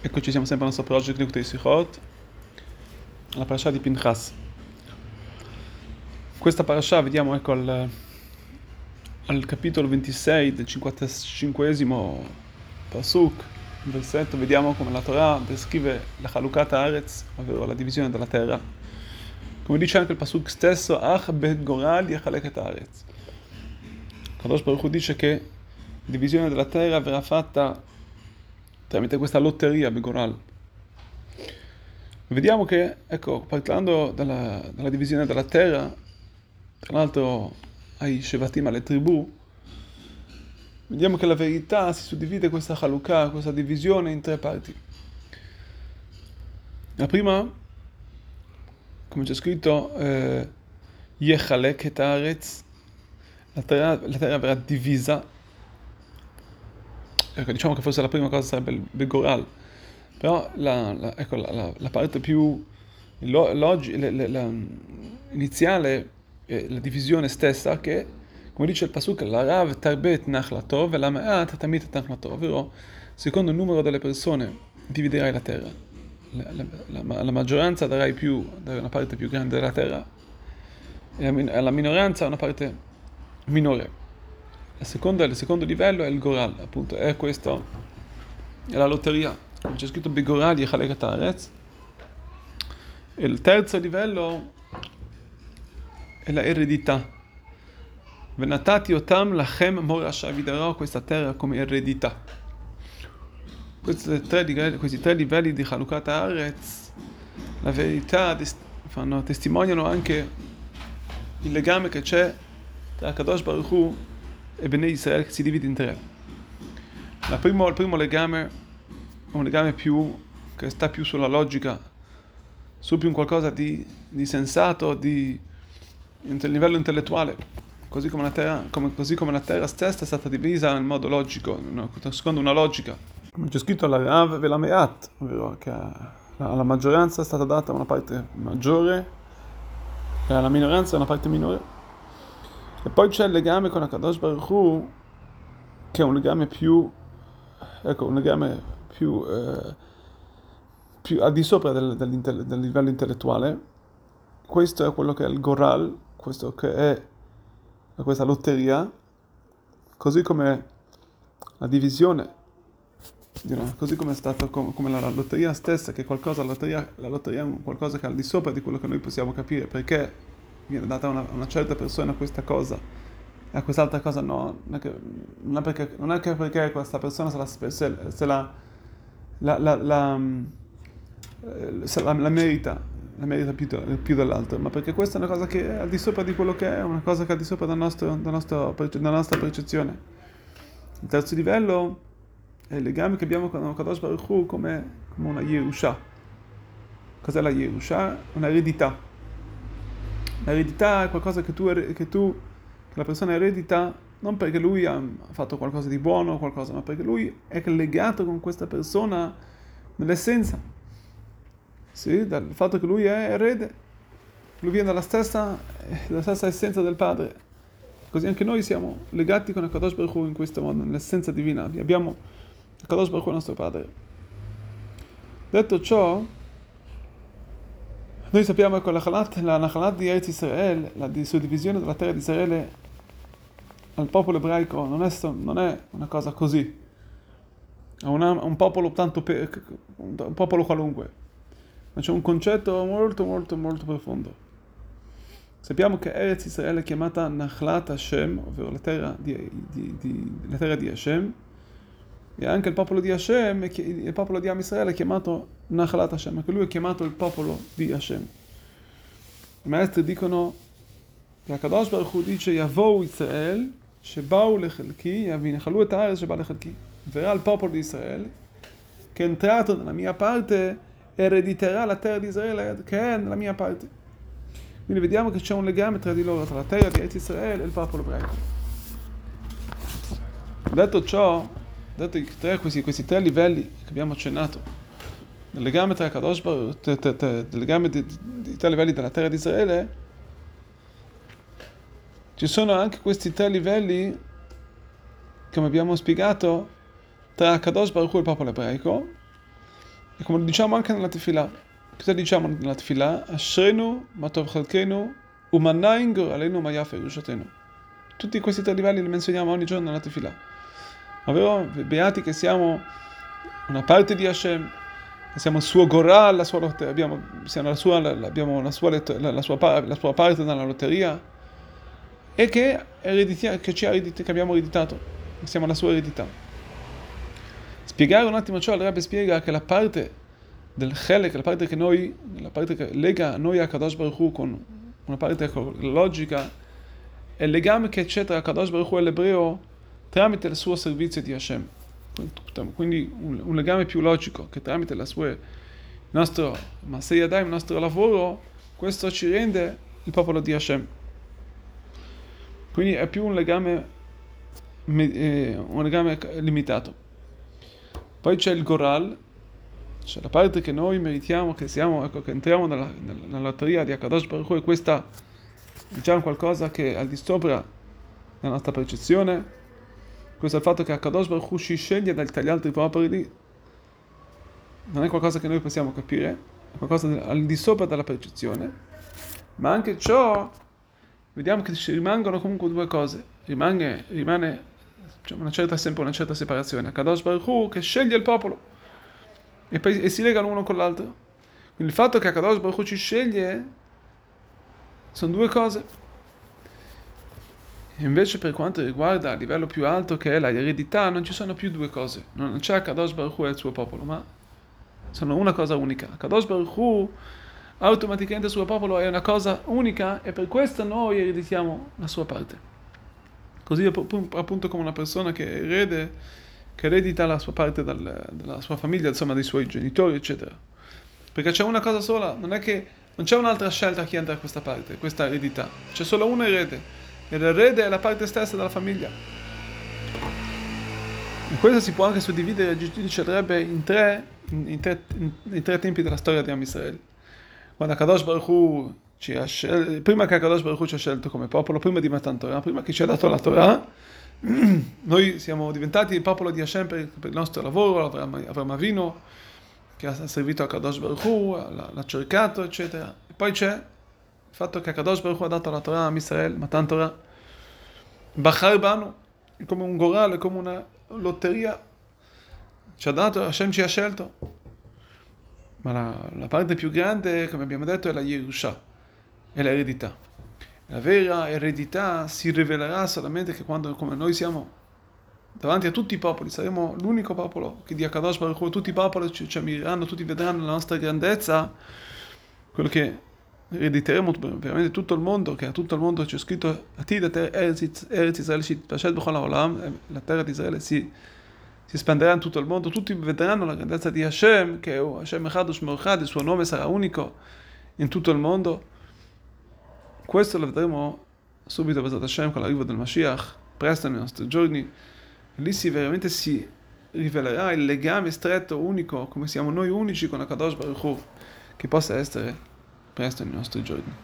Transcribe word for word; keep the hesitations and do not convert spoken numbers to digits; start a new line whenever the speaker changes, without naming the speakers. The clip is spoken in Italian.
Eccoci, siamo sempre al nostro project Likutei Sichot, alla parasha di Pinchas. Questa parasha vediamo ecco al, al capitolo ventisei del cinquantacinquesimo pasuk, versetto, vediamo come la Torah descrive la Chalukat Haaretz, ovvero la divisione della terra. Come dice anche il pasuk stesso, Ach bet goral yechalek haaretz. Kadosh Baruch Hu dice che la divisione della terra verrà fatta tramite questa lotteria begoral. Vediamo che, ecco, parlando della, della divisione della terra, tra l'altro ai Shevatim, alle tribù, vediamo che la verità si suddivide questa Chalukah, questa divisione in tre parti. La prima, come c'è scritto, eh, Yechalek et haaretz, la terra, la terra verrà divisa. Ecco, diciamo che forse la prima cosa sarebbe il Begoral, però la, la, ecco, la, la, la parte più logi, la, la, la, iniziale è la divisione stessa che, come dice il Pasuk, la Rav tarbet nachlato e la Ma'at tamit nachlato, ovvero secondo il numero delle persone dividerai la terra. La, la, la, la maggioranza darai più, darai una parte più grande della terra e la, la minoranza una parte minore. La seconda, il secondo livello è il Goral, appunto, è questo, è la lotteria, come c'è scritto Begoral yechalek haaretz. E il terzo livello è la eredità. Venatati otam lachem morasha, vi darò questa terra come eredità. Questi tre, questi tre livelli di Chalukat Haaretz, la verità, fanno, testimoniano anche il legame che c'è tra Kadosh Baruch Hu e Bnei Israele, che si divide in tre. La primo, il primo legame è un legame più che sta più sulla logica, su più un qualcosa di, di sensato, di, di livello intellettuale, così come, la terra, come, così come la terra stessa è stata divisa in modo logico, no? Secondo una logica. Come c'è scritto alla Rav ve la Me'at, ovvero che alla maggioranza è stata data una parte maggiore e alla minoranza una parte minore. E poi c'è il legame con la Kadosh Baruch Hu, che è un legame più, ecco, un legame più, eh, più al di sopra del, del livello intellettuale. Questo è quello che è il Goral, questo che è questa lotteria, così come la divisione, you know, così come è stato come, come la, la lotteria stessa, che è qualcosa, la lotteria, la lotteria è qualcosa che è al di sopra di quello che noi possiamo capire, perché viene data a una, una certa persona questa cosa e a quest'altra cosa no, non è che, non è perché, non è che perché questa persona se la, se, se la, la, la, la, se la, la merita, la merita più, più dell'altra, ma perché questa è una cosa che è al di sopra di quello che è, una cosa che è al di sopra del nostro, del nostro, della nostra percezione. Il terzo livello è il legame che abbiamo con Kadosh Baruch Hu come, come una Yerusha. Cos'è la Yerusha? Una eredità. L'eredità è qualcosa che tu, che tu, che la persona eredita non perché lui ha fatto qualcosa di buono o qualcosa, ma perché lui è legato con questa persona nell'essenza. Sì, dal fatto che lui è erede, lui viene dalla stessa, dalla stessa essenza del padre. Così anche noi siamo legati con il Kadosh Baruch Hu in questo modo, nell'essenza divina. Abbiamo il Kadosh Baruch Hu il nostro padre. Detto ciò, noi sappiamo che la Nachalat, la Nachalat di Eretz Israel, la suddivisione della terra di Israele al popolo ebraico non è, non è una cosa così, è una, un popolo tanto pe, un popolo qualunque, ma c'è un concetto molto molto molto profondo. Sappiamo che Eretz Israele è chiamata Nachalat Hashem, ovvero la terra di, di, di, la terra di Hashem, e anche il popolo di Hashem, il popolo di Am Israele è chiamato Nachalat Hashem, anche lui è chiamato il popolo di Hashem. I maestri dicono che Kadosh Baruch Hu dice Yavou Israel Shebau lechelki Yavinechalu et haaretz sheba lechelki, verrà il popolo di Israele che è entrato nella mia parte e erediterà la terra di Israele che è nella mia parte. Quindi vediamo che c'è un legame tra di loro, tra la terra di Eretz Israele e il popolo ebraico. Detto ciò, detto i tre, questi, questi tre livelli che abbiamo accennato, il legame tra Kadosh Baruch, il legame di, di, di tre livelli della terra di Israele, ci sono anche questi tre livelli, come abbiamo spiegato, tra Kadosh Baruch Hu e il popolo ebraico, E come lo diciamo anche nella Tefillah. Cosa diciamo nella Tefillah? Ashrenu, Matov Chalkenu, Umanain Goralenu, Mayaf Yerushatenu. Tutti questi tre livelli li menzioniamo ogni giorno nella Tefillah. Ovvero, beati che siamo una parte di Hashem, che siamo il suo Goral, la sua lotteria, abbiamo, siamo la sua, la, abbiamo la sua, la, la, sua, la sua parte nella lotteria, e che, che, ci ha che abbiamo ereditato, che siamo la sua eredità. Spiegare un attimo ciò, il Rebbe spiega che la parte del Chelek, la parte che noi, la parte che lega noi a Kadosh Baruch Hu con una parte logica, è il legame che c'è tra Kadosh Baruch Hu e l'ebreo tramite il suo servizio di Hashem. Quindi un, un legame più logico, che tramite la sua, il nostro Masei Yadayim, il nostro lavoro, questo ci rende il popolo di Hashem. Quindi è più un legame, eh, un legame limitato. Poi c'è il Goral, cioè la parte che noi meritiamo, che siamo, ecco, che entriamo nella, nella lotteria di Akadosh Baruch Hu, e questa diciamo qualcosa che è al di sopra della nostra percezione. Questo è il fatto che Akadosh Baruch Hu ci sceglie dagli altri popoli, non è qualcosa che noi possiamo capire, è qualcosa al di sopra della percezione, ma anche ciò, vediamo che ci rimangono comunque due cose, rimane, rimane cioè una certa, sempre una certa separazione, Akadosh Baruch Hu che sceglie il popolo, e, poi, e si legano uno con l'altro. Quindi il fatto che Akadosh Baruch Hu ci sceglie sono due cose. Invece per quanto riguarda a livello più alto, che è la eredità, non ci sono più due cose. Non c'è Akadosh Baruch Hu e il suo popolo, ma sono una cosa unica. Akadosh Baruch Hu automaticamente il suo popolo è una cosa unica, e per questo noi ereditiamo la sua parte. Così appunto come una persona che erede, che eredita la sua parte dal, dalla sua famiglia, insomma dei suoi genitori, eccetera. Perché c'è una cosa sola, non è che non c'è un'altra scelta che entra a questa parte, questa eredità. C'è solo un erede, e l'erede è la parte stessa della famiglia. E questo si può anche suddividere, dicerebbe, in tre, in, in, tre, in, in tre tempi della storia di Am Israel. Quando Akadosh Baruch Hu ci ha scelto, prima che Akadosh Baruch Hu ci ha scelto come popolo, prima di Matan Torah, prima che ci ha dato la Torah, noi siamo diventati il popolo di Hashem per, per il nostro lavoro, Avram Avinu, che ha servito a Akadosh Baruch Hu, l'ha, l'ha cercato, eccetera. E poi c'è il fatto che Akadosh Baruch Hu ha dato la Torah a Am Israel, Matan Torah, Bachar Banu, è come un gorale, è come una lotteria, ci ha dato, Hashem ci ha scelto. Ma la, la parte più grande, come abbiamo detto, è la Yerusha, è l'eredità. La vera eredità si rivelerà solamente che quando, come noi siamo davanti a tutti i popoli, saremo l'unico popolo che di Akadosh Baruch Hu, tutti i popoli ci, ci ammiriranno, tutti vedranno la nostra grandezza, quello che erediteremo veramente tutto il mondo, che a tutto il mondo c'è scritto Eretz Israel, la terra di Israele si si espanderà in tutto il mondo, tutti vedranno la grandezza di Hashem, che è Hashem Echad U'Shmo Echad, il suo nome sarà unico in tutto il mondo. Questo lo vedremo subito, Bezat Hashem, con l'arrivo del Mashiach, presto nei nostri giorni. Lì si veramente si rivelerà il legame stretto, unico, come siamo noi unici con Akadosh Baruch Hu, che possa essere presto nei nostri giorni.